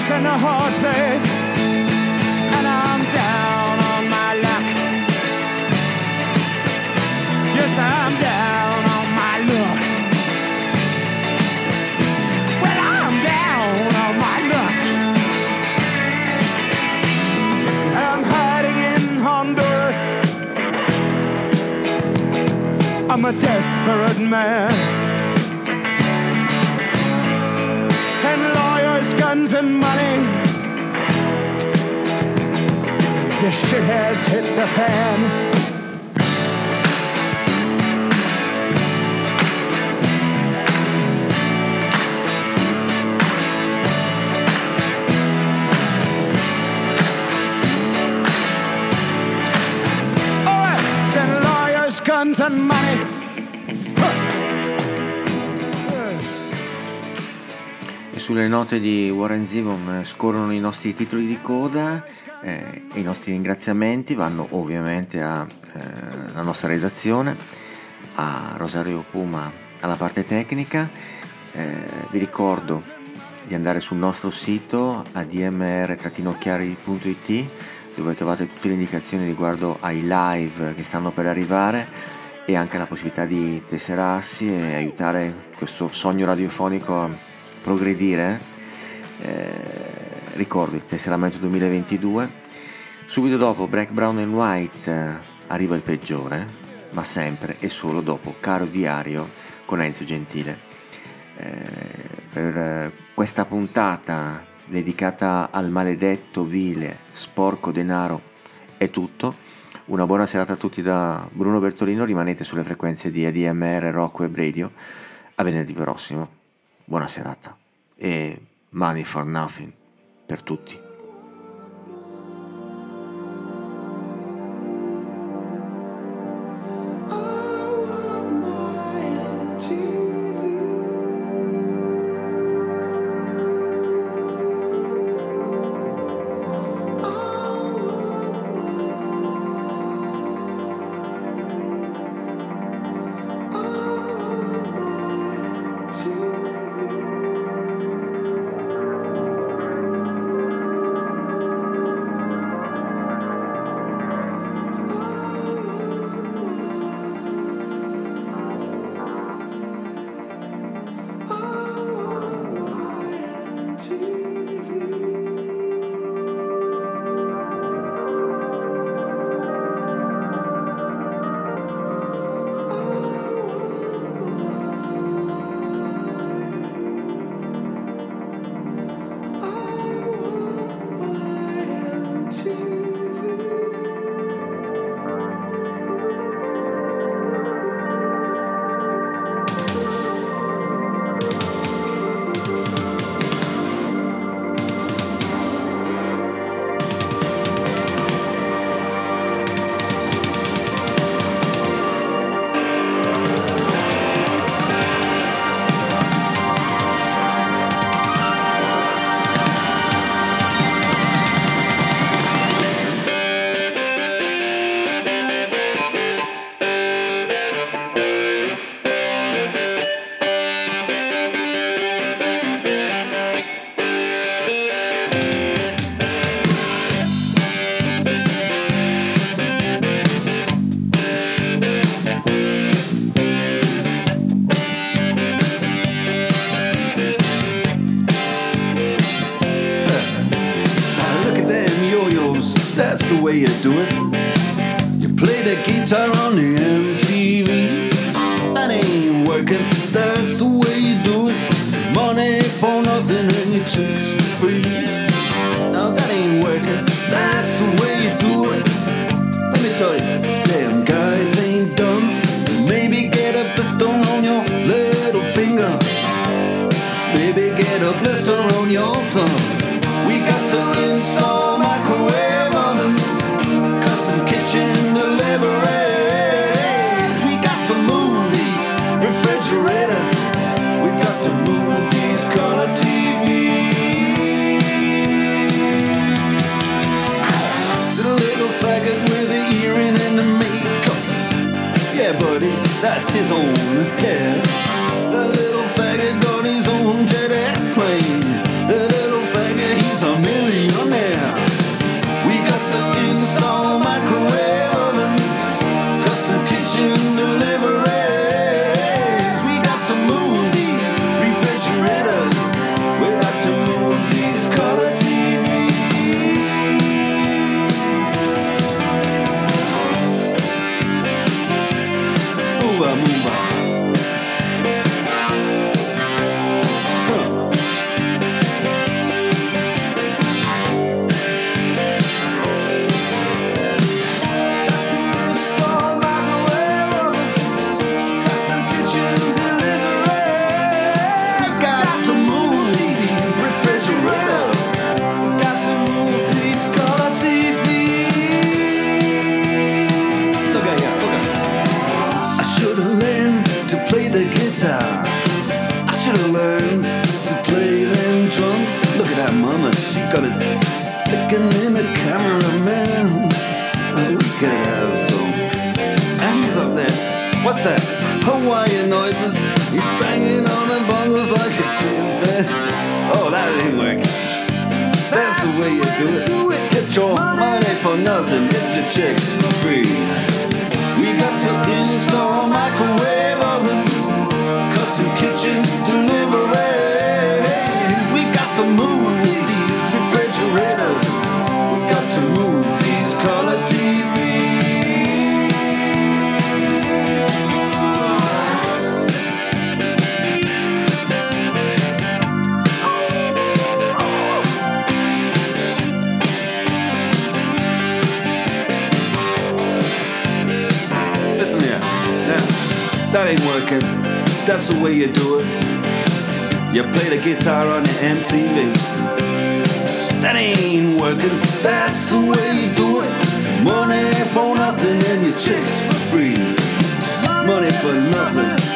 L: rock and a hard place, and I'm down on my luck. Yes, I'm down on my luck. Well, I'm down on my luck. I'm hiding in Honduras. I'm a desperate man. Send lawyers, guns, and money. This shit has hit the fan. Guns and money.
B: E sulle note di Warren Zevon scorrono i nostri titoli di coda e i nostri ringraziamenti vanno ovviamente alla nostra redazione, a Rosario Puma alla parte tecnica. Vi ricordo di andare sul nostro sito admr-chiari.it, dove trovate tutte le indicazioni riguardo ai live che stanno per arrivare e anche la possibilità di tesserarsi e aiutare questo sogno radiofonico a progredire. Ricordo il tesseramento 2022. Subito dopo Black, Brown and White arriva il peggiore, ma sempre e solo dopo Caro Diario con Enzo Gentile. Per questa puntata dedicata al maledetto, vile, sporco denaro è tutto. Una buona serata a tutti da Bruno Bertolino. Rimanete sulle frequenze di ADMR Rock Web Radio. A venerdì prossimo. Buona serata e Money for Nothing per tutti.
P: That's his own hair. The little faggot got his own jet airplane. The little faggot, he's the way you do it. Get your money for nothing, get your chicks for free. We got to install microwave oven, custom kitchen deliveries. We got to move these refrigerators. We got to move these color TVs. That ain't working, that's the way you do it. You play the guitar on the MTV. That ain't working, that's the way you do it. Money for nothing and your chicks for free. Money for nothing